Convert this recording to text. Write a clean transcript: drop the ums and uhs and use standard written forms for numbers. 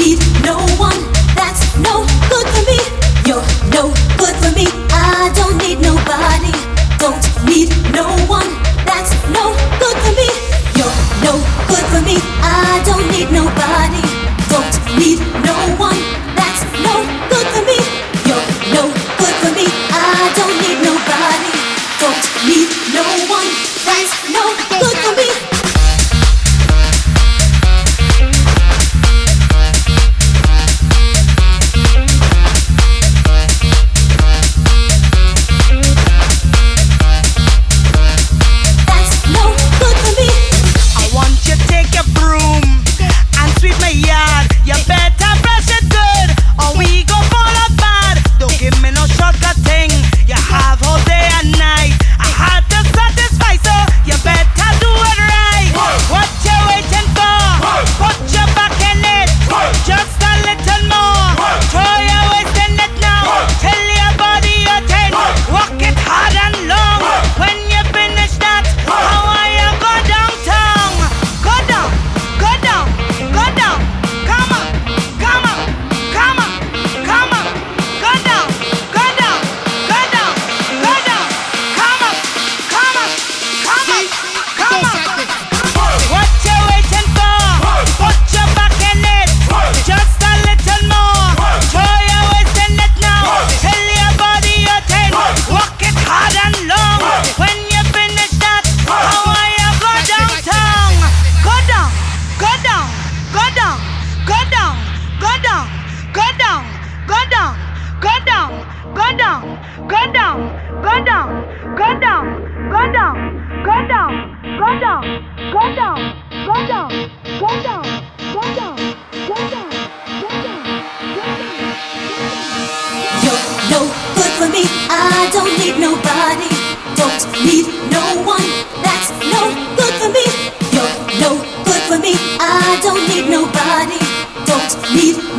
need no one. That's no good for me. You're no good for me. I don't need nobody. Don't need no one. That's no good for me. You're no good for me. I don't need nobody. Don't need no one. That's no good for me. You're no good for me. I don't need nobody. Don't need no one. That's no good for me. I don't need nobody. Don't need no one. That's no good for me. You're no good for me. I don't need nobody. Don't need